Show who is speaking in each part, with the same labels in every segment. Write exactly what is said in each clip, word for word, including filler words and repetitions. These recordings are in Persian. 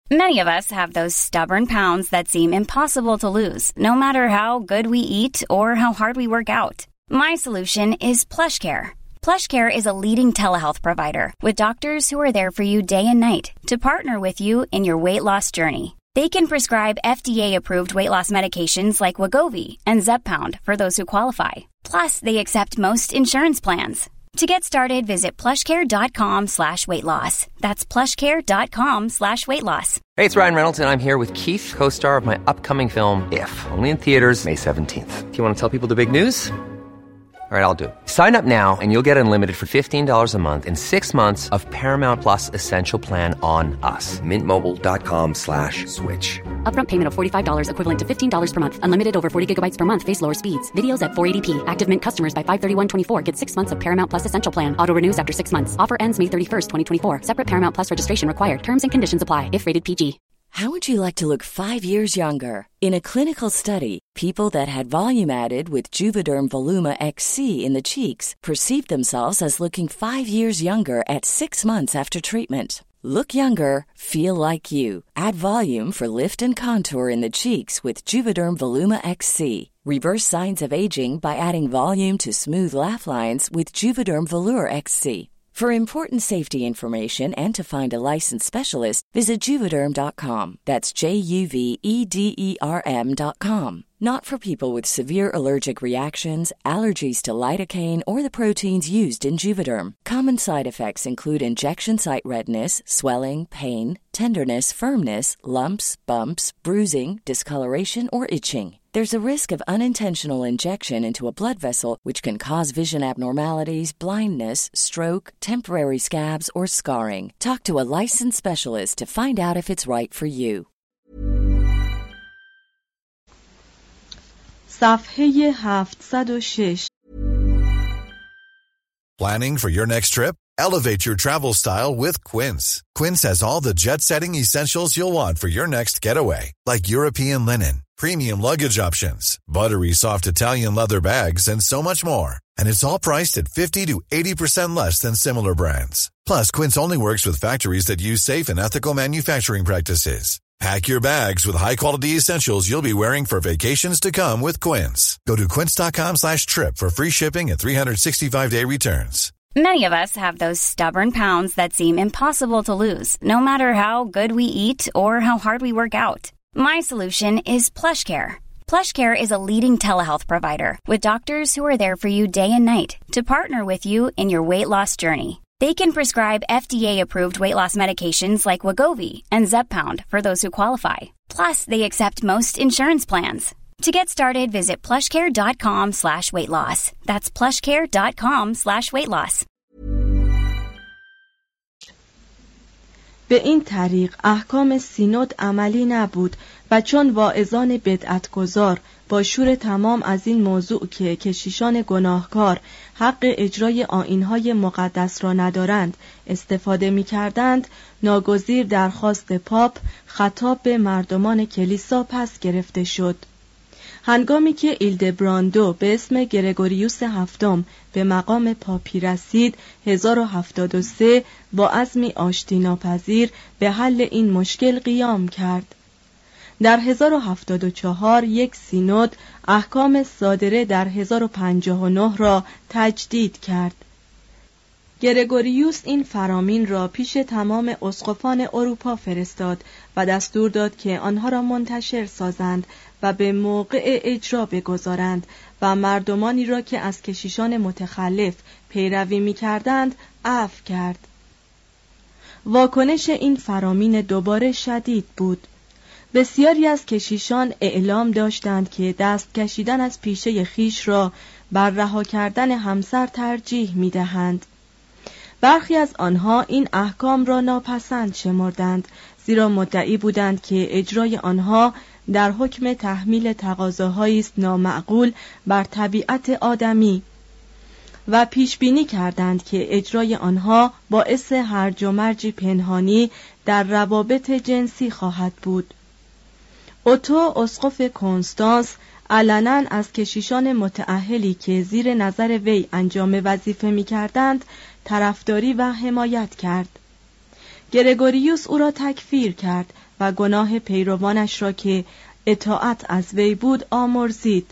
Speaker 1: Many of us have those stubborn pounds that seem impossible to lose, no matter how good we eat or how hard we work out. My solution is PlushCare. PlushCare is a leading telehealth provider with doctors who are there for you day and night to partner with you in your weight loss journey. They can prescribe F D A-approved weight loss medications like Wegovy and Zepbound for those who qualify. Plus, they accept most insurance plans. To get started, visit plushcare.com slash weight loss. That's plushcare.com slash weight loss.
Speaker 2: Hey, it's Ryan Reynolds, and I'm here with Keith, co-star of my upcoming film, If, only in theaters May seventeenth. Do you want to tell people the big news? All right, I'll do it. Sign up now and you'll get unlimited for fifteen dollars a month and six months of Paramount Plus Essential Plan on us. Mint Mobile dot com slash switch.
Speaker 3: Upfront payment of forty-five dollars equivalent to fifteen dollars per month. Unlimited over forty gigabytes per month. Face lower speeds. Videos at four eighty p. Active Mint customers by five thirty-one twenty-four get six months of Paramount Plus Essential Plan. Auto renews after six months. Offer ends May thirty-first, twenty twenty-four. Separate Paramount Plus registration required. Terms and conditions apply if rated P G.
Speaker 4: How would you like to look five years younger? In a clinical study, people that had volume added with Juvederm Voluma X C in the cheeks perceived themselves as looking five years younger at six months after treatment. Look younger, feel like you. Add volume for lift and contour in the cheeks with Juvederm Voluma X C. Reverse signs of aging by adding volume to smooth laugh lines with Juvederm Volure X C. For important safety information and to find a licensed specialist, visit Juvederm dot com. That's J U V E D E R M dot com. Not for people with severe allergic reactions, allergies to lidocaine, or the proteins used in Juvederm. Common side effects include injection site redness, swelling, pain, tenderness, firmness, lumps, bumps, bruising, discoloration, or itching. There's a risk of unintentional injection into a blood vessel, which can cause vision abnormalities, blindness, stroke, temporary scabs, or scarring. Talk to a licensed specialist to find out if it's right for you.
Speaker 5: صفحه هفتصد و شش.
Speaker 6: Planning for your next trip? Elevate your travel style with Quince. Quince has all the jet-setting essentials you'll want for your next getaway, like European linen, premium luggage options, buttery soft Italian leather bags, and so much more. And it's all priced at fifty to eighty percent less than similar brands. Plus, Quince only works with factories that use safe and ethical manufacturing practices. Pack your bags with high-quality essentials you'll be wearing for vacations to come with Quince. Go to quince.com slash trip for free shipping and three sixty-five day returns.
Speaker 1: Many of us have those stubborn pounds that seem impossible to lose, no matter how good we eat or how hard we work out. My solution is PlushCare. PlushCare is a leading telehealth provider with doctors who are there for you day and night to partner with you in your weight loss journey. They can prescribe F D A-approved weight loss medications like Wegovy and Zepbound for those who qualify. Plus, they accept most insurance plans. To get started, visit plushcare.com slash weight loss. That's plushcare.com slash weight loss.
Speaker 5: به این طریق احکام سینود عملی نبود و چون واعظان بدعتگذار با شور تمام از این موضوع که کشیشان گناهکار حق اجرای آیین‌های مقدس را ندارند استفاده می‌کردند، ناگزیر درخواست پاپ خطاب به مردمان کلیسا پس گرفته شد. هنگامی که ایلدبراندو به اسم گرگوریوس هفتم به مقام پاپی رسید، هزار و هفتاد و سه با عزمی آشتی ناپذیر به حل این مشکل قیام کرد. در هزار و هفتاد و چهار یک سینود احکام صادره در هزار و پنجاه و نه را تجدید کرد. گرگوریوس این فرامین را پیش تمام اسقفان اروپا فرستاد و دستور داد که آنها را منتشر سازند و به موقع اجرا بگذارند و مردمانی را که از کشیشان متخلف پیروی می‌کردند عفو کرد. واکنش این فرامین دوباره شدید بود. بسیاری از کشیشان اعلام داشتند که دست کشیدن از پیشه خیش را بر رها کردن همسر ترجیح می‌دهند. برخی از آنها این احکام را ناپسند شمردند، زیرا مدعی بودند که اجرای آنها در حکم تحمیل تقاضاهایی است نامعقول بر طبیعت آدمی و پیش بینی کردند که اجرای آنها باعث هرج و مرج پنهانی در روابط جنسی خواهد بود. اوتو اسقف کنستانس علنا از کشیشان متأهلی که زیر نظر وی انجام وظیفه می‌کردند طرفداری و حمایت کرد. گرگوریوس او را تکفیر کرد و گناه پیروانش را که اطاعت از وی بود آمرزید.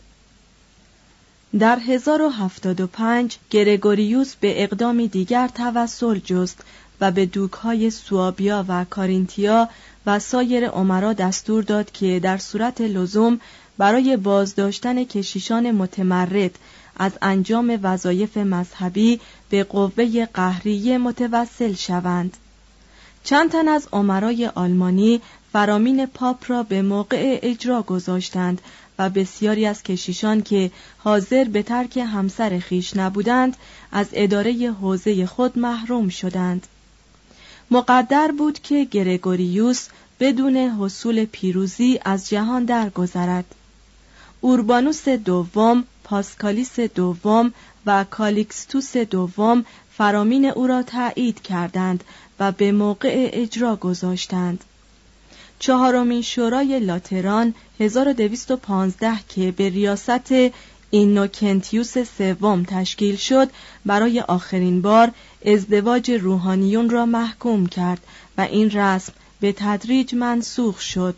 Speaker 5: در هزار و هفتاد و پنج گرگوریوس به اقدامی دیگر توسل جست و به دوک‌های سوابیا و کارینتیا و سایر امرا دستور داد که در صورت لزوم برای بازداشتن کشیشان متمرد از انجام وظایف مذهبی به قوه قهریه متوسل شوند. چند تن از امرای آلمانی فرامین پاپ را به موقع اجرا گذاشتند و بسیاری از کشیشان که حاضر به ترک همسر خیش نبودند از اداره حوزه خود محروم شدند. مقدر بود که گرگوریوس بدون حصول پیروزی از جهان درگذرد. اوربانوس دوم، پاسکالیس دوم و کالیکستوس دوم فرامین او را تایید کردند و به موقع اجرا گذاشتند. چهارمین شورای لاتران هزار و دویست و پانزده که به ریاست اینوکنتیوس سوم تشکیل شد برای آخرین بار ازدواج روحانیون را محکوم کرد و این رسم به تدریج منسوخ شد.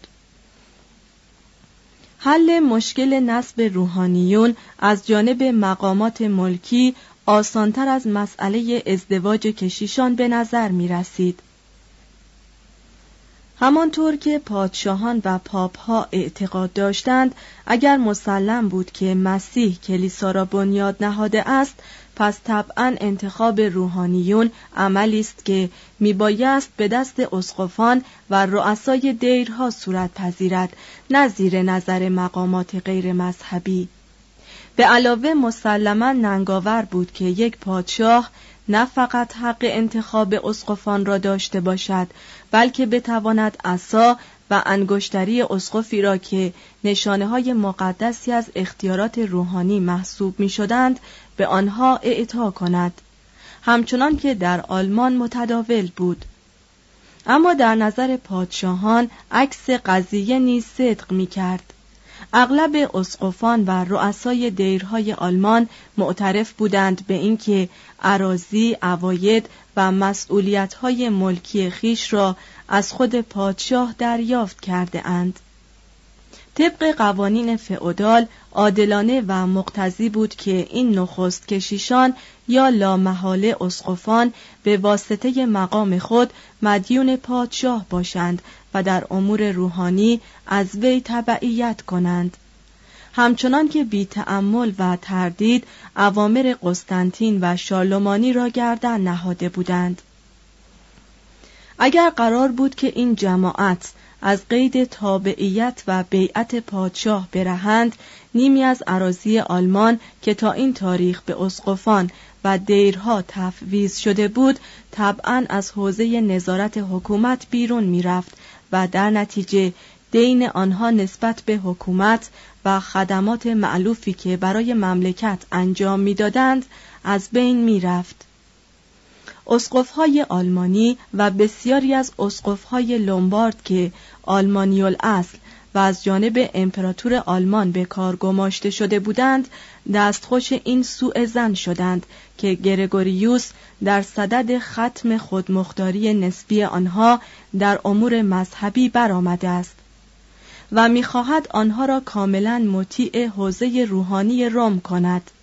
Speaker 5: حل مشکل نسب روحانیون از جانب مقامات ملکی آسانتر از مسئله ازدواج کشیشان به نظر می رسید. همانطور که پادشاهان و پاپها اعتقاد داشتند اگر مسلم بود که مسیح کلیسا را بنیاد نهاده است، پس طبعاً انتخاب روحانیون عملی است که میبایست به دست اسقفان و رؤسای دیرها صورت پذیرد، نه زیر نظر مقامات غیر مذهبی. به علاوه مسلماً ننگاور بود که یک پادشاه نه فقط حق انتخاب اسقفان را داشته باشد، بلکه بتواند عصا و انگشتری اسقفی را که نشانه‌های مقدسی از اختیارات روحانی محسوب می‌شدند به آنها اعطا کند، همچنان که در آلمان متداول بود. اما در نظر پادشاهان عکس قضیه نیز صدق می‌کرد. اغلب اسقفان و رؤسای دیرهای آلمان معترف بودند به اینکه اراضی، عواید و مسئولیت‌های ملکی خیش را از خود پادشاه دریافت کرده اند. طبق قوانین فئودال عادلانه و مقتضی بود که این نخست کشیشان یا لامحاله اسقفان به واسطه مقام خود مدیون پادشاه باشند و در امور روحانی از وی تبعیت کنند، همچنان که بی تأمل و تردید اوامر قسطنطین و شارلمانی را گردن نهاده بودند. اگر قرار بود که این جماعت از قید تابعیت و بیعت پادشاه برهند، نیمی از اراضی آلمان که تا این تاریخ به اسقفان و دیرها تفویض شده بود طبعاً از حوزه نظارت حکومت بیرون می رفت و در نتیجه دین آنها نسبت به حکومت و خدمات مألوفی که برای مملکت انجام می دادند از بین می رفت. اسقف‌های آلمانی و بسیاری از اسقف‌های لومبارد که آلمانی الاصل و از جانب امپراتور آلمان به کار گماشته شده بودند دستخوش این سوء ظن شدند که گرگوریوس در صدد ختم خودمختاری نسبی آنها در امور مذهبی برآمده است و می‌خواهد آنها را کاملاً مطیع حوزه روحانی روم کند.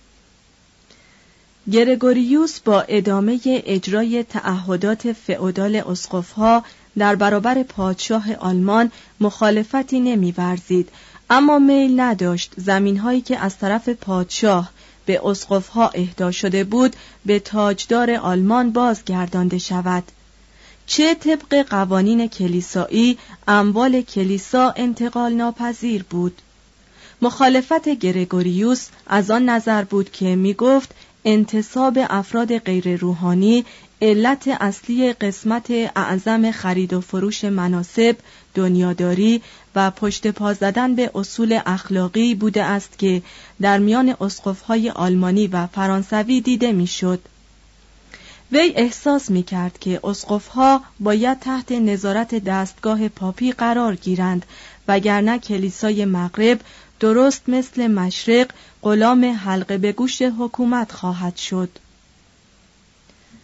Speaker 5: گرگوریوس با ادامه اجرای تعهدات فئودال اسقف‌ها در برابر پادشاه آلمان مخالفتی نمی‌ورزید، اما میل نداشت زمین‌هایی که از طرف پادشاه به اسقف‌ها اهدا شده بود به تاجدار آلمان بازگردانده شود. چه طبق قوانین کلیسایی اموال کلیسا انتقال ناپذیر بود. مخالفت گرگوریوس از آن نظر بود که می‌گفت انتصاب افراد غیر روحانی علت اصلی قسمت اعظم خرید و فروش مناصب، دنیاداری و پشت پا زدن به اصول اخلاقی بوده است که در میان اسقف‌های آلمانی و فرانسوی دیده میشد. وی احساس می‌کرد که اسقف‌ها باید تحت نظارت دستگاه پاپی قرار گیرند، وگرنه کلیسای مغرب درست مثل مشرق غلام حلقه به گوش حکومت خواهد شد.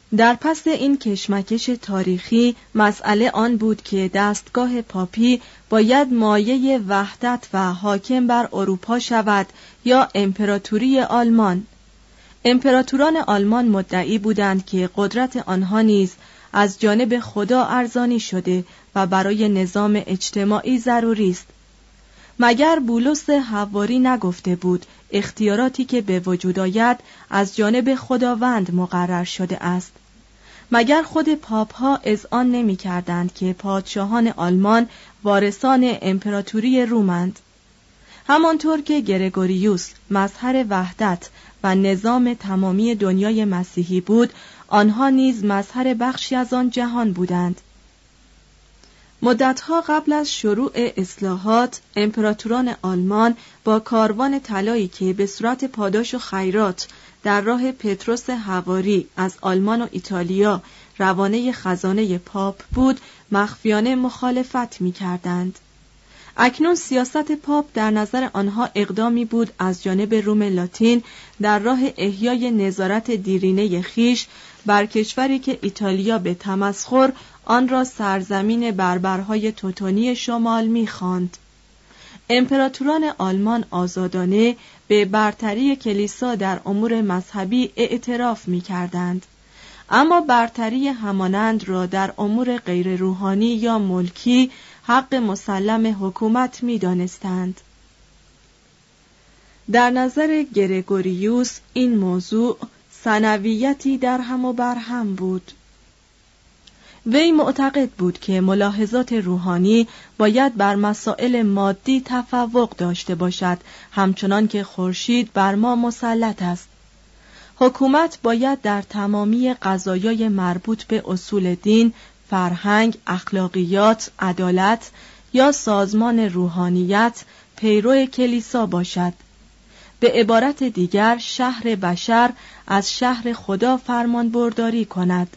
Speaker 5: در پس این کشمکش تاریخی مسئله آن بود که دستگاه پاپی باید مایه وحدت و حاکم بر اروپا شود یا امپراتوری آلمان. امپراتوران آلمان مدعی بودند که قدرت آنها نیز از جانب خدا ارزانی شده و برای نظام اجتماعی ضروری است. مگر بولس حواری نگفته بود اختیاراتی که به وجود آید از جانب خداوند مقرر شده است؟ مگر خود پاپ ها اذعان نمی کردند که پادشاهان آلمان وارثان امپراتوری رومند؟ همانطور که گرگوریوس مظهر وحدت و نظام تمامی دنیای مسیحی بود، آنها نیز مظهر بخشی از آن جهان بودند. مدتها قبل از شروع اصلاحات، امپراتوران آلمان با کاروان طلایی که به صورت پاداش و خیرات در راه پطرس حواری از آلمان و ایتالیا روانه خزانه پاپ بود، مخفیانه مخالفت می کردند. اکنون سیاست پاپ در نظر آنها اقدامی بود از جانب روم لاتین در راه احیای نظارت دیرینه خیش بر کشوری که ایتالیا به تمسخر آن را سرزمین بربرهای توتونی شمال می‌خواند. امپراتوران آلمان آزادانه به برتری کلیسا در امور مذهبی اعتراف می‌کردند، اما برتری همانند را در امور غیر روحانی یا ملکی حق مسلم حکومت می‌دانستند. در نظر گرگوریوس این موضوع ثانویتی در هم و بر هم بود. وی معتقد بود که ملاحظات روحانی باید بر مسائل مادی تفوق داشته باشد، همچنان که خورشید بر ما مسلط است. حکومت باید در تمامی قضایای مربوط به اصول دین، فرهنگ، اخلاقیات، عدالت یا سازمان روحانیت پیرو کلیسا باشد. به عبارت دیگر شهر بشر از شهر خدا فرمان برداری کند.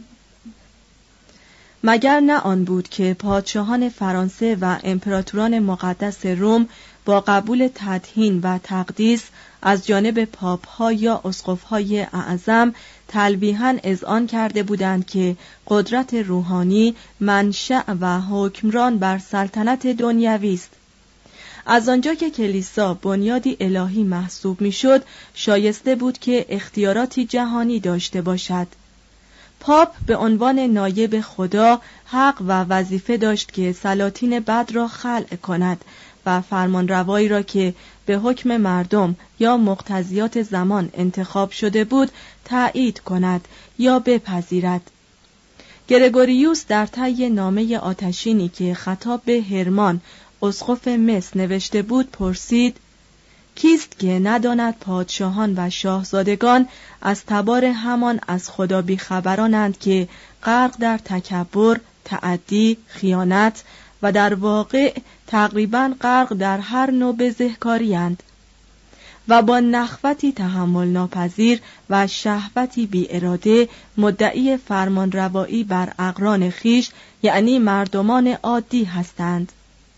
Speaker 5: مگر نه آن بود که پادشاهان فرانسه و امپراتوران مقدس روم با قبول تدهین و تقدیس از جانب پاپ‌ها یا اسقف‌های اعظم تلویحاً اذعان کرده بودند که قدرت روحانی منشأ و حکمران بر سلطنت دنیوی است. از آنجا که کلیسا بنیادی الهی محسوب میشد، شایسته بود که اختیاراتی جهانی داشته باشد. پاپ به عنوان نایب خدا حق و وظیفه داشت که سلاطین بد را خلع کند و فرمانروایی را که به حکم مردم یا مقتضیات زمان انتخاب شده بود تأیید کند یا بپذیرد. گرگوریوس در طی نامه آتشینی که خطاب به هرمان اسقف مس نوشته بود پرسید: کیست که نداند پادشاهان و شاهزادگان از تبار همان از خدا بیخبرانند که غرق در تکبر، تعدی، خیانت و در واقع تقریباً غرق در هر نوع بزهکاری‌اند و با نخوتی تحمل ناپذیر و شهوتی بی اراده مدعی فرمانروایی بر اقران خیش، یعنی مردمان عادی هستند.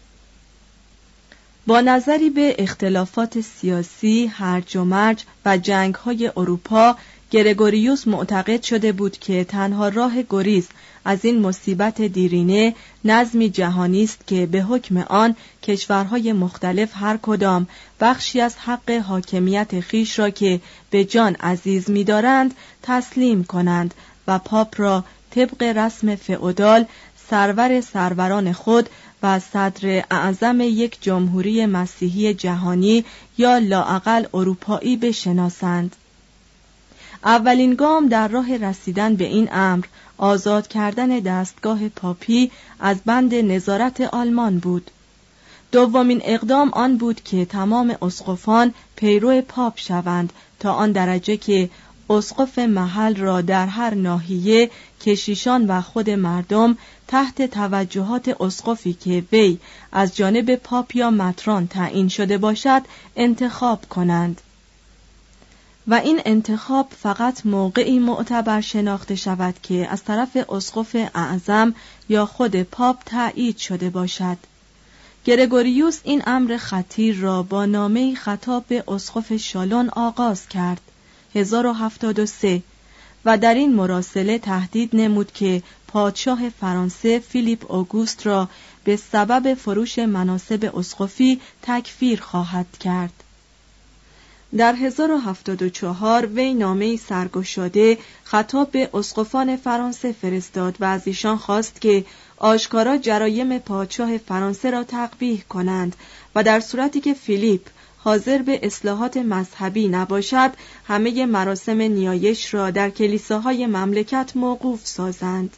Speaker 5: با نظری به اختلافات سیاسی، هرج و مرج و جنگ‌های اروپا، گرگوریوس معتقد شده بود که تنها راه گریز از این مصیبت دیرینه نظمی جهانی است که به حکم آن کشورهای مختلف هر کدام بخشی از حق حاکمیت خیش را که به جان عزیز می‌دارند تسلیم کنند و پاپ را طبق رسم فئودال سرور سروران خود و صدر اعظم یک جمهوری مسیحی جهانی یا لااقل اروپایی بشناسند. اولین گام در راه رسیدن به این امر آزاد کردن دستگاه پاپی از بند نظارت آلمان بود. دومین اقدام آن بود که تمام اسقفان پیرو پاپ شوند تا آن درجه که اسقف محل را در هر ناحیه کشیشان و خود مردم تحت توجهات اسقفی که وی از جانب پاپ یا متران تعیین شده باشد انتخاب کنند و این انتخاب فقط موقعی معتبر شناخته شود که از طرف اسقف اعظم یا خود پاپ تایید شده باشد. گرگوریوس این امر خطیر را با نامه‌ای خطاب به اسقف شالون آغاز کرد هزار و هفتاد و سه و در این مراسله تهدید نمود که پادشاه فرانسه فیلیپ اوگوست را به سبب فروش مناصب اسقفی تکفیر خواهد کرد. در هزار و هفتاد و چهار وی نامه‌ای سرگشاده خطاب به اسقفان فرانسه فرستاد و از ایشان خواست که آشکارا جرایم پادشاه فرانسه را تقبیح کنند و در صورتی که فیلیپ حاضر به اصلاحات مذهبی نباشد همه مراسم نیایش را در کلیساهای مملکت موقوف سازند.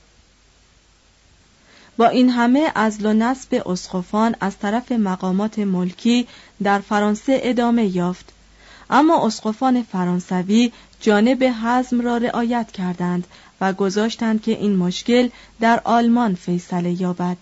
Speaker 5: با این همه عزل و نصب اسقفان از طرف مقامات ملکی در فرانسه ادامه یافت، اما اسقفان فرانسوی جانب حزم را رعایت کردند و گذاشتند که این مشکل در آلمان فیصله یابد.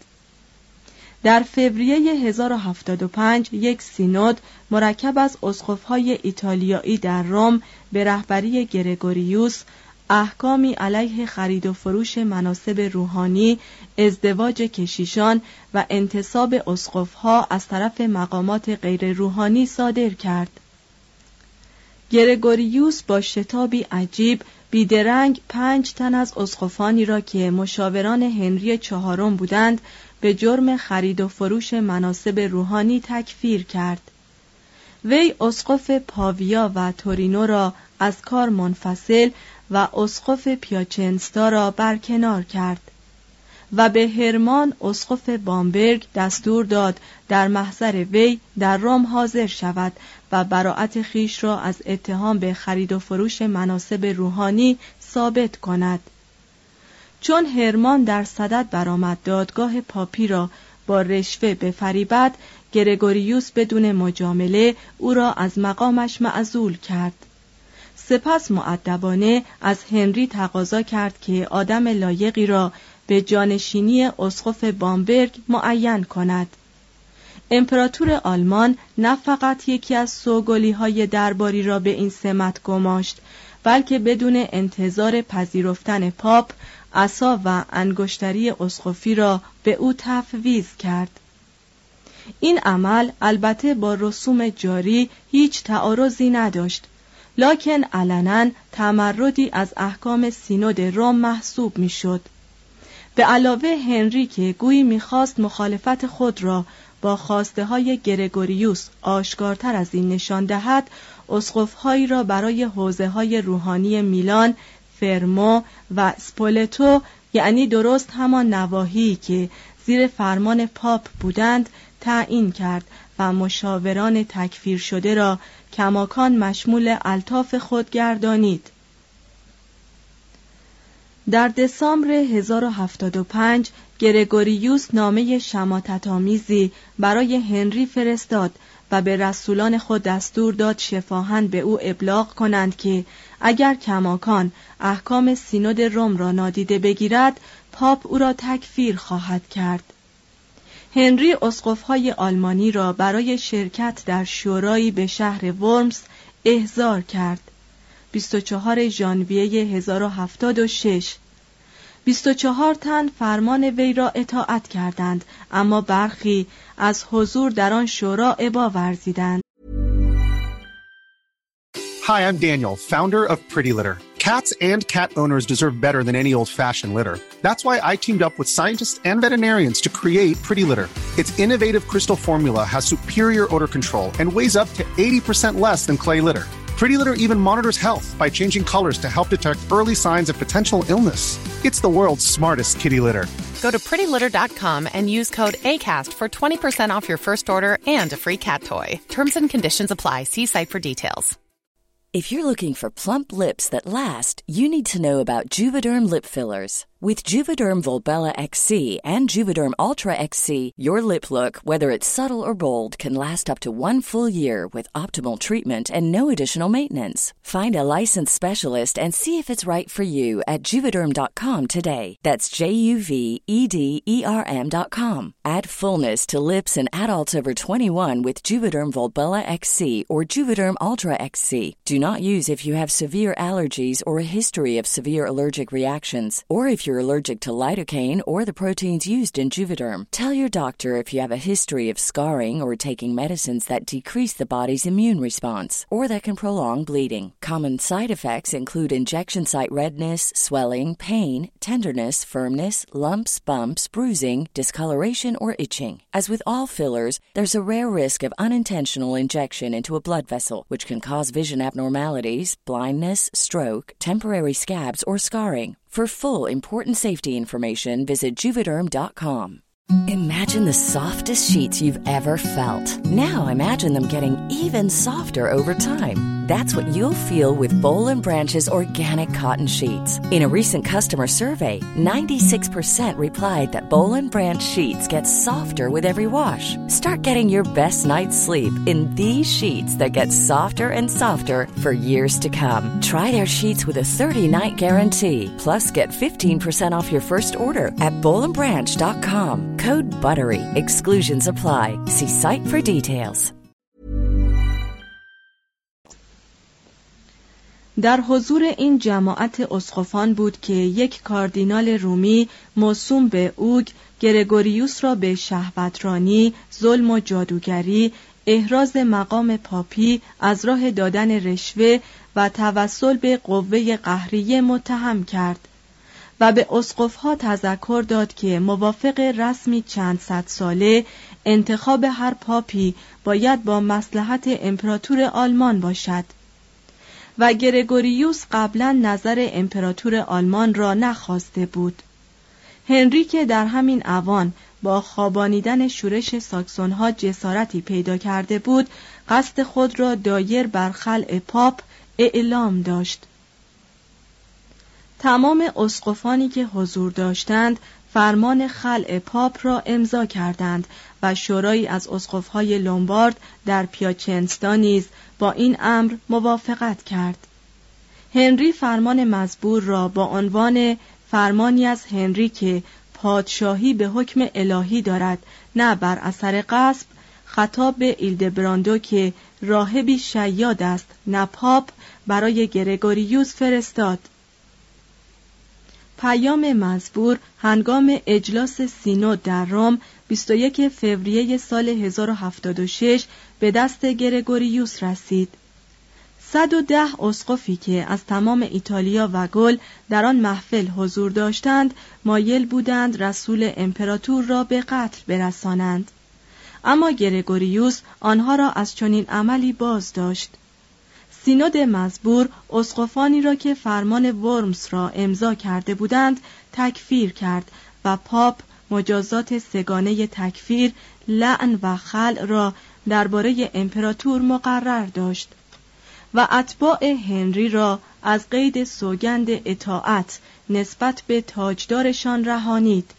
Speaker 5: در فوریه هزار و هفتاد و پنج یک سینود مرکب از اسقف‌های ایتالیایی در روم به رهبری گرگوریوس احکامی علیه خرید و فروش مناصب روحانی، ازدواج کشیشان و انتصاب اسقف‌ها از طرف مقامات غیر روحانی صادر کرد. گرگوریوس با شتابی عجیب بیدرنگ پنج تن از اسقفانی را که مشاوران هنری چهارم بودند به جرم خرید و فروش مناصب روحانی تکفیر کرد. وی اسقف پاویا و تورینو را از کار منفصل و اسقف پیاچنستا را برکنار کرد و به هرمان اسقف بامبرگ دستور داد در محضر وی در روم حاضر شود و براءت خیش را از اتهام به خرید و فروش مناصب روحانی ثابت کند. چون هرمان در صدد برآمد دادگاه پاپی را با رشوه بفریبد، گرگوریوس بدون مجامله او را از مقامش معزول کرد. سپس مؤدبانه از هنری تقاضا کرد که آدم لایقی را به جانشینی اسقف بامبرگ معین کند. امپراتور آلمان نه فقط یکی از سوگلی‌های درباری را به این سمت گماشت، بلکه بدون انتظار پذیرفتن پاپ عصا و انگشتری اسقفی را به او تفویض کرد. این عمل البته با رسوم جاری هیچ تعارضی نداشت، لکن علناً تمردی از احکام سینود روم محسوب میشد. به علاوه هنری که گویی میخواست مخالفت خود را با خواسته های گرگوریوس آشکارتر از این نشان دهد، اسقف‌هایی را برای حوزه‌های روحانی میلان، فرمو و سپولتو، یعنی درست همان نواحی که زیر فرمان پاپ بودند، تعیین کرد و مشاوران تکفیر شده را کماکان مشمول الطاف خود گردانید. در دسامبر هزار و هفتاد و پنج گرگوریوس نامه شماتت‌آمیزی برای هنری فرستاد و به رسولان خود دستور داد شفاهاً به او ابلاغ کنند که اگر کماکان احکام سینود روم را نادیده بگیرد، پاپ او را تکفیر خواهد کرد. هنری اسقف‌های آلمانی را برای شرکت در شورایی به شهر ورمز احضار کرد. بیست و چهارم ژانویه هزار و هفتاد و شش بیست و چهار تن فرمان وی را اطاعت کردند، اما برخی از حضور در آن شورا ابا ورزیدند.
Speaker 7: Hi, I'm Daniel, founder of Pretty Litter. Cats and cat owners deserve better than any old-fashioned litter. That's why I teamed up with scientists and veterinarians to create Pretty Litter. Its innovative crystal formula has superior odor control and weighs up to eighty percent less than clay litter. Pretty Litter even monitors health by changing colors to help detect early signs of potential illness. It's the world's smartest kitty litter.
Speaker 8: Go to pretty litter dot com and use code ACAST for twenty percent off your first order and a free cat toy. Terms and conditions apply. See site for details.
Speaker 4: If you're looking for plump lips that last, you need to know about Juvederm lip fillers. With Juvederm Volbella X C and Juvederm Ultra X C, your lip look, whether it's subtle or bold, can last up to one full year with optimal treatment and no additional maintenance. Find a licensed specialist and see if it's right for you at Juvederm dot com today. That's J U V E D E R M dot com. Add fullness to lips in adults over twenty-one with Juvederm Volbella X C or Juvederm Ultra X C. Do not use if you have severe allergies or a history of severe allergic reactions, or if you're allergic to lidocaine or the proteins used in Juvederm. Tell your doctor if you have a history of scarring or taking medicines that decrease the body's immune response or that can prolong bleeding. Common side effects include injection site redness, swelling, pain, tenderness, firmness, lumps, bumps, bruising, discoloration, or itching. As with all fillers, there's a rare risk of unintentional injection into a blood vessel, which can cause vision abnormalities, blindness, stroke, temporary scabs, or scarring. For full important safety information, visit Juvederm dot com. Imagine the softest sheets you've ever felt. Now imagine them getting even softer over time. That's what you'll feel with Boll and Branch's organic cotton sheets. In a recent customer survey, ninety-six percent replied that Boll and Branch sheets get softer with every wash. Start getting your best night's sleep in these sheets that get softer and softer for years to come. Try their sheets with a thirty-night guarantee. Plus, get fifteen percent off your first order at boll and branch dot com. Code BUTTERY. Exclusions apply. See site for details.
Speaker 5: در حضور این جماعت اسقفان بود که یک کاردینال رومی موسوم به اوگ گرگوریوس را به شهوترانی، ظلم و جادوگری، احراز مقام پاپی از راه دادن رشوه و توسل به قوه قهریه متهم کرد و به اسقف‌ها تذکر داد که موافق رسمی چند صد ساله انتخاب هر پاپی باید با مصلحت امپراتور آلمان باشد و گرگوریوس قبلا نظر امپراتور آلمان را نخواسته بود. هنری که در همین اوان با خوابانیدن شورش ساکسون‌ها جسارتی پیدا کرده بود، قصد خود را دایر بر خلع پاپ اعلام داشت. تمام اسقفانی که حضور داشتند فرمان خلع پاپ را امضا کردند و شورایی از اسقف‌های لومبارد در پیاچنستا نیز با این امر موافقت کرد. هنری فرمان مزبور را با عنوان فرمانی از هنری که پادشاهی به حکم الهی دارد نه بر اثر غصب، خطاب به ایلدبراندو که راهبی شیاد است نه پاپ، برای گرگوریوس فرستاد. پیام مزبور هنگام اجلاس سینود در روم بیست و یک فوریه سال هزار و هفتاد و شش به دست گرگوریوس رسید. صد و ده اسقفی که از تمام ایتالیا و گل در آن محفل حضور داشتند مایل بودند رسول امپراتور را به قتل برسانند، اما گرگوریوس آنها را از چنین عملی باز داشت. سینود مزبور اسقفانی را که فرمان ورمز را امضا کرده بودند تکفیر کرد و پاپ مجازات سگانه تکفیر، لعن و خلع را درباره امپراتور مقرر داشت و اتباع هنری را از قید سوگند اطاعت نسبت به تاجدارشان رهانید.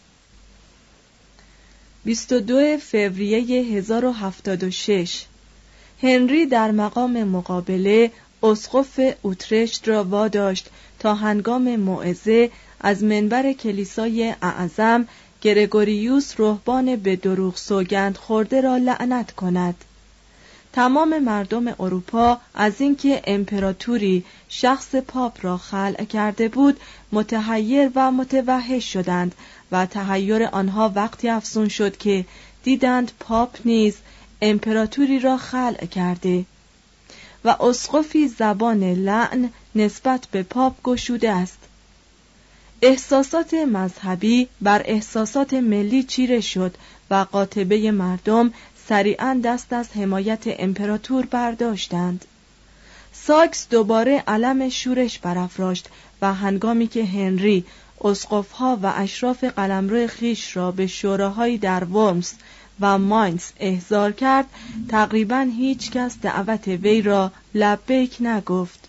Speaker 5: بیست و دو فوریه هزار و هفتاد و شش هنری در مقام مقابله اسقف اوترشت را واداشت تا هنگام موعظه از منبر کلیسای اعظم گرگوریوس رهبان به دروغ سوگند خورده را لعنت کند. تمام مردم اروپا از اینکه امپراتوری شخص پاپ را خلع کرده بود متحیر و متوحش شدند و تحیر آنها وقتی افزون شد که دیدند پاپ نیز امپراتوری را خلع کرده و اسقفی زبان لعن نسبت به پاپ گشوده است. احساسات مذهبی بر احساسات ملی چیره شد و قاطبه مردم سریعاً دست از حمایت امپراتور برداشتند. ساکس دوباره علم شورش برافراشت و هنگامی که هنری اسقف‌ها و اشراف قلمرو خیش را به شوراهایی در ورمز و ماینز احضار کرد، تقریباً هیچ کس دعوت وی را لبیک نگفت.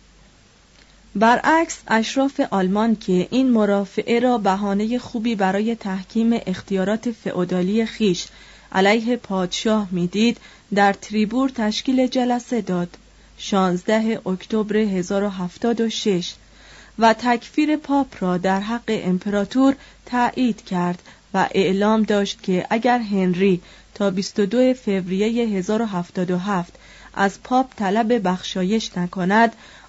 Speaker 5: برعکس اشراف آلمان که این مرافعه را بهانه خوبی برای تحکیم اختیارات فئودالی خیش علیه پادشاه میدید، در تریبور تشکیل جلسه داد شانزده اکتبر هزار و هفتاد و شش و تکفیر پاپ را در حق امپراتور تایید کرد و اعلام داشت که اگر هنری تا بیست و دو فوریه هزار و هفتاد و هفت از پاپ طلب بخشایش نکند،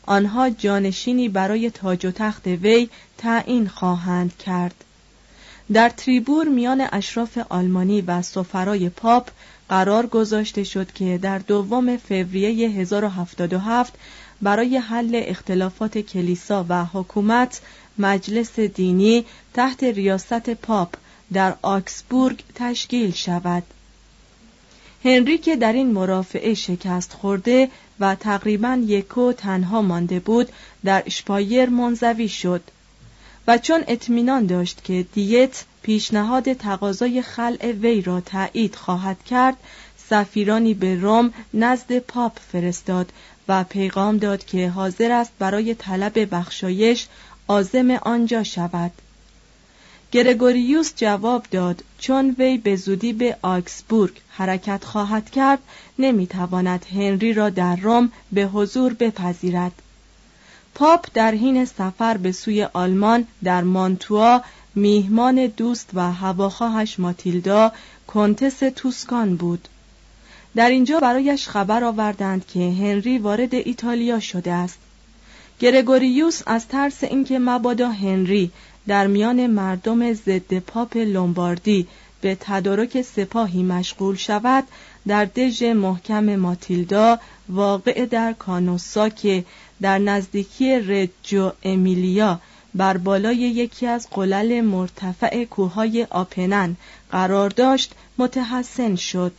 Speaker 5: آنها جانشینی برای تاج و تخت وی تعیین خواهند کرد. در تریبور میان اشراف آلمانی و سفرای پاپ قرار گذاشته شد که در دوم فوریه هزار و هفتاد و هفت برای حل اختلافات کلیسا و حکومت مجلس دینی تحت ریاست پاپ در آکسبورگ تشکیل شود. هنری که در این مرافعه شکست خورده و تقریباً یکو تنها مانده بود، در اشپایر منزوی شد و چون اطمینان داشت که دیت پیشنهاد تقاضای خلع وی را تایید خواهد کرد، سفیرانی به روم نزد پاپ فرستاد و پیغام داد که حاضر است برای طلب بخشایش عازم آنجا شود. گرگوریوس جواب داد چون وی به زودی به آکسبورگ حرکت خواهد کرد، نمیتواند هنری را در روم به حضور بپذیرد. پاپ در حین سفر به سوی آلمان در مانتوا میهمان دوست و هواخواهش ماتیلدا کنتس توسکان بود. در اینجا برایش خبر آوردند که هنری وارد ایتالیا شده است. گرگوریوس از ترس اینکه مبادا هنری در میان مردم ضد پاپ لومباردی به تدارک سپاهی مشغول شود، در دژ محکم ماتیلدا واقع در کانوسا که در نزدیکی رجو امیلیا بر بالای یکی از قلل مرتفع کوههای آپنن قرار داشت متحصن شد.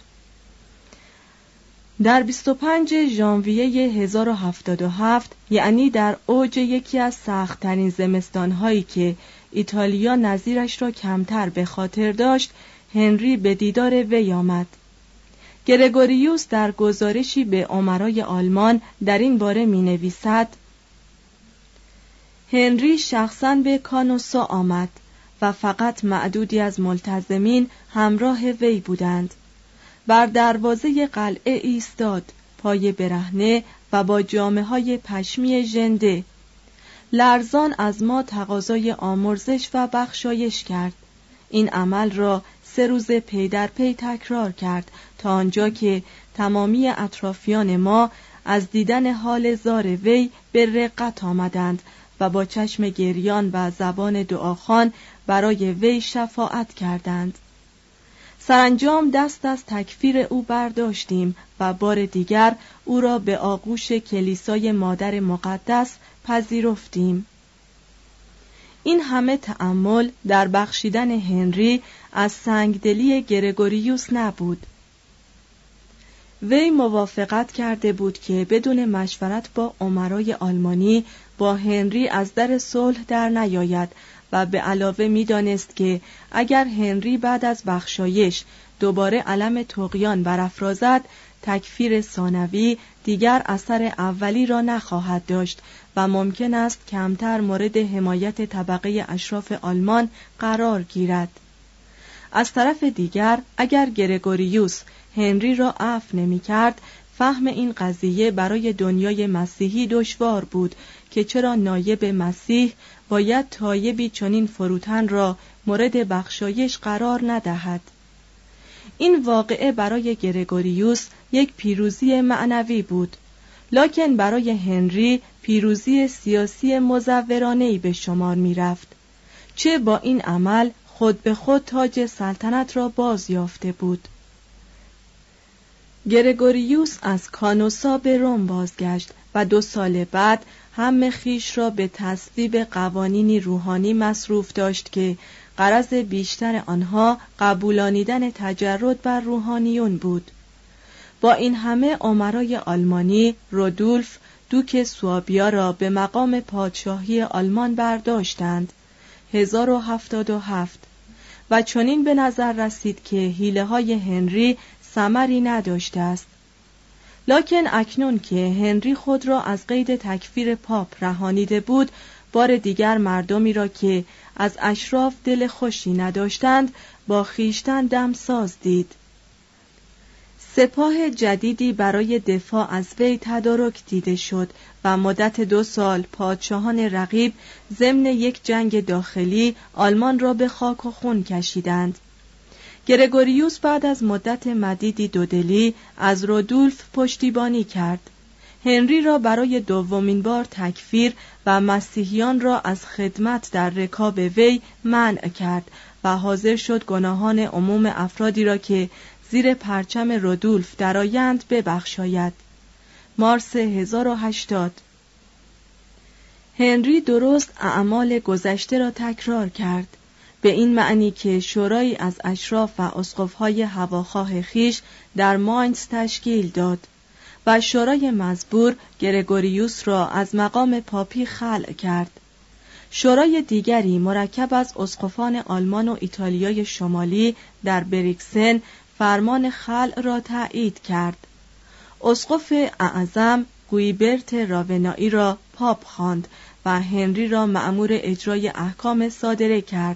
Speaker 5: در بیست و پنجم ژانویه هزار و هفتاد و هفت، یعنی در اوج یکی از سخت‌ترین زمستان‌هایی که ایتالیا نظیرش را کمتر به خاطر داشت، هنری به دیدار وی آمد. گرگوریوس در گزارشی به امرای آلمان در این باره می‌نویسد: هنری شخصاً به کانوسا آمد و فقط معدودی از ملتزمین همراه وی بودند. بر دروازه قلعه ایستاد، پای برهنه و با جامه‌های پشمی ژنده. لرزان از ما تقاضای آمرزش و بخشایش کرد. این عمل را سه روز پی در پی تکرار کرد تا آنجا که تمامی اطرافیان ما از دیدن حال زار وی به رقت آمدند و با چشم گریان و زبان دعاخوان برای وی شفاعت کردند. سرانجام دست از تکفیر او برداشتیم و بار دیگر او را به آغوش کلیسای مادر مقدس پذیرفتیم. این همه تأمل در بخشیدن هنری از سنگدلی گرگوریوس نبود. وی موافقت کرده بود که بدون مشورت با امرای آلمانی با هنری از در صلح در نیاید و به علاوه می دانست که اگر هنری بعد از بخشایش دوباره علم طغیان برافرازد، تکفیر ثانوی دیگر اثر اولی را نخواهد داشت و ممکن است کمتر مورد حمایت طبقه اشراف آلمان قرار گیرد. از طرف دیگر اگر گرگوریوس هنری را عفو نمی کرد، فهم این قضیه برای دنیای مسیحی دشوار بود که چرا نایب مسیح باید تایبی چنین فروتن را مورد بخشایش قرار ندهد. این واقعه برای گرگوریوس یک پیروزی معنوی بود، لکن برای هنری پیروزی سیاسی مزورانه‌ای به شمار می رفت. چه با این عمل خود به خود تاج سلطنت را باز یافته بود. گرگوریوس از کانوسا به روم بازگشت و دو سال بعد هم خویش را به تصویب قوانینی روحانی مصروف داشت که غرض بیشتر آنها قبولانیدن تجرد بر روحانیون بود. با این همه امرای آلمانی رودولف دوک سوابیا را به مقام پادشاهی آلمان برداشتند هزار و هفتاد و هفت و چنین به نظر رسید که حیله‌های هنری ثمری نداشته است. لکن اکنون که هنری خود را از قید تکفیر پاپ رهانیده بود، بار دیگر مردمی را که از اشراف دل خوشی نداشتند با خیشتن دمساز دید. سپاه جدیدی برای دفاع از وی تدارک دیده شد و مدت دو سال پادشاهان رقیب ضمن یک جنگ داخلی آلمان را به خاک و خون کشیدند. گرگوریوس بعد از مدت مدیدی دودلی از رودولف پشتیبانی کرد. هنری را برای دومین بار تکفیر و مسیحیان را از خدمت در رکاب وی منع کرد و حاضر شد گناهان عموم افرادی را که زیر پرچم رودولف درآیند ببخشاید. مارس هزار و هشتاد. هنری درست اعمال گذشته را تکرار کرد، به این معنی که شورایی از اشراف و اسقف‌های هواخواه خیش در ماینز تشکیل داد و شورای مزبور گرگوریوس را از مقام پاپی خلع کرد. شورای دیگری مرکب از اسقفان آلمان و ایتالیای شمالی در بریکسن فرمان خلع را تایید کرد. اسقف اعظم گویبرت راونایی را پاپ خواند و هنری را مأمور اجرای احکام صادره کرد.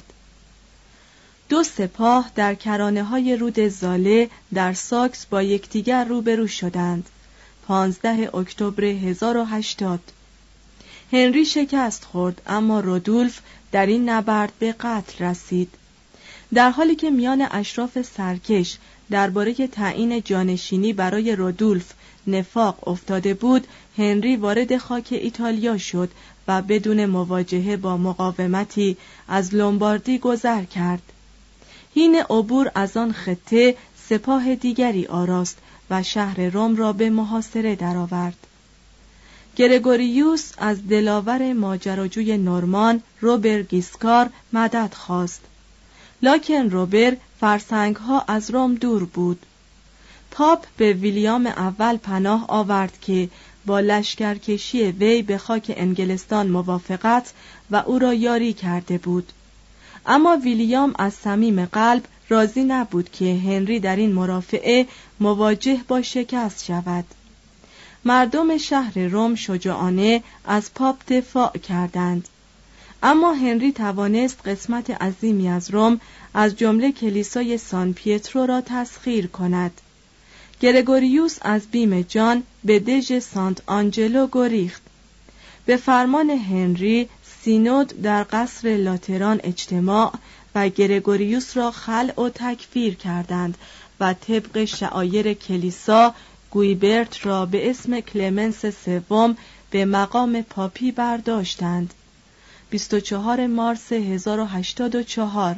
Speaker 5: دو سپاه در کرانه‌های رود زاله در ساکس با یکدیگر روبرو شدند. پانزده اکتبر هزار و هشتاد. هنری شکست خورد، اما رودولف در این نبرد به قتل رسید. در حالی که میان اشراف سرکش درباره تعیین جانشینی برای رودولف نفاق افتاده بود، هنری وارد خاک ایتالیا شد و بدون مواجهه با مقاومتی از لومباردی گذر کرد. حین عبور از آن خطه سپاه دیگری آراست و شهر روم را به محاصره درآورد. گرگوریوس از دلاور ماجراجوی نورمان روبر گیسکار مدد خواست، لکن روبر فرسنگها از روم دور بود. پاپ به ویلیام اول پناه آورد که با لشکرکشی وی به خاک انگلستان موافقت و او را یاری کرده بود، اما ویلیام از صمیم قلب راضی نبود که هنری در این مرافعه مواجه با شکست شود. مردم شهر روم شجاعانه از پاپ دفاع کردند، اما هنری توانست قسمت عظیمی از روم از جمله کلیسای سان پیترو را تسخیر کند. گرگوریوس از بیم جان به دژ سانت آنجلو گریخت. به فرمان هنری سینود در قصر لاتران اجتماع و گرگوریوس را خلع و تکفیر کردند و طبق شعایر کلیسا گویبرت را به اسم کلمنس سوم به مقام پاپی برداشتند. بیست و چهارم مارس هزار و هشتاد و چهار.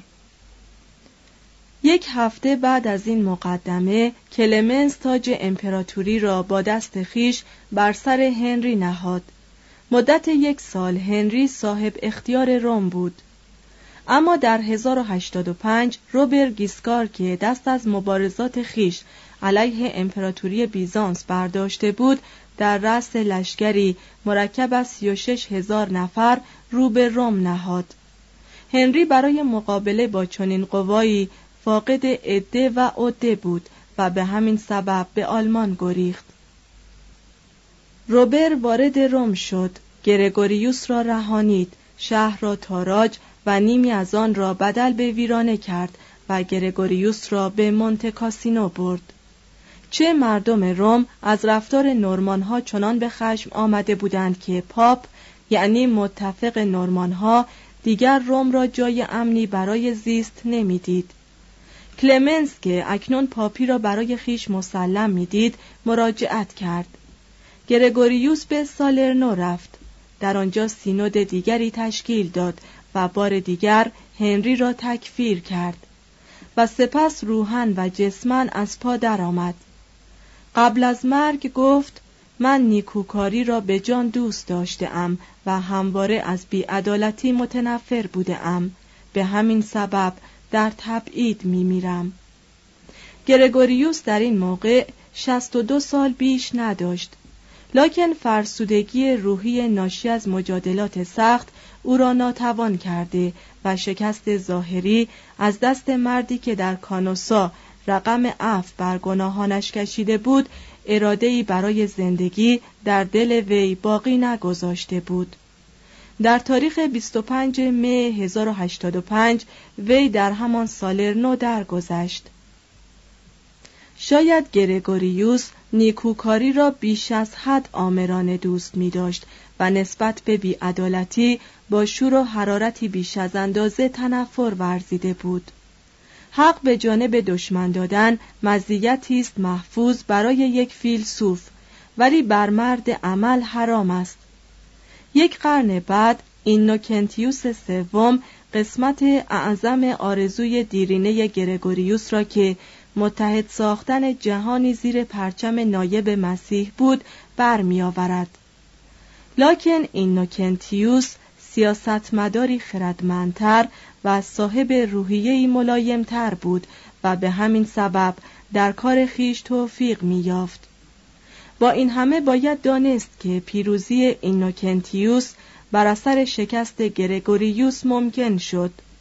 Speaker 5: یک هفته بعد از این مقدمه کلمنس تاج امپراتوری را با دست خیش بر سر هنری نهاد. مدت یک سال هنری صاحب اختیار روم بود، اما در هزار و هشتاد و پنج روبر گیسکار که دست از مبارزات خیش علیه امپراتوری بیزانس برداشته بود، در رأس لشکری مرکب از سی و شش هزار نفر رو به روم نهاد. هنری برای مقابله با چنین قوایی فاقد عده و عده بود و به همین سبب به آلمان گریخت. روبر وارد روم شد، گرگوریوس را رهانید، شهر را تاراج و نیمی از آن را بدل به ویرانه کرد و گرگوریوس را به مونته کاسینو برد. چه مردم روم از رفتار نورمانها چنان به خشم آمده بودند که پاپ، یعنی متفق نورمانها، دیگر روم را جای امنی برای زیست نمیدید. کلمنس که اکنون پاپی را برای خیش مسلم میدید، مراجعت کرد. گرگوریوس به سالرنو رفت. در آنجا سینود دیگری تشکیل داد و بار دیگر هنری را تکفیر کرد و سپس روحاً و جسماً از پا درآمد. قبل از مرگ گفت: من نیکوکاری را به جان دوست داشته‌ام و همواره از بی‌عدالتی متنفر بوده‌ام، به همین سبب در تبعید می‌میرم. گرگوریوس در این موقع شصت و دو سال بیش نداشت، لکن فرسودگی روحی ناشی از مجادلات سخت او را ناتوان کرده و شکست ظاهری از دست مردی که در کانوسا رقم عفو بر گناهانش کشیده بود، اراده‌ای برای زندگی در دل وی باقی نگذاشته بود. در تاریخ بیست و پنجم می هزار و هشتاد و پنج وی در همان سالرنو درگذشت. شاید گرگوریوس نیکوکاری را بیش از حد آمرانه دوست می داشت و نسبت به بی‌عدالتی با شور و حرارتی بیش از اندازه تنفر ورزیده بود. حق به جانب دشمن دادن مزیتی است محفوظ برای یک فیلسوف ولی بر مرد عمل حرام است. یک قرن بعد اینوکنتیوس سوم قسمت اعظم آرزوی دیرینه گرگوریوس را که متحد ساختن جهانی زیر پرچم نایب مسیح بود برمی آورد. لکن اینوکنتیوس سیاستمداری خردمندتر و صاحب روحیه‌ای ملایمتر بود و به همین سبب در کار خیش توفیق می یافت. با این همه باید دانست که پیروزی اینوکنتیوس بر اثر شکست گرگوریوس ممکن شد.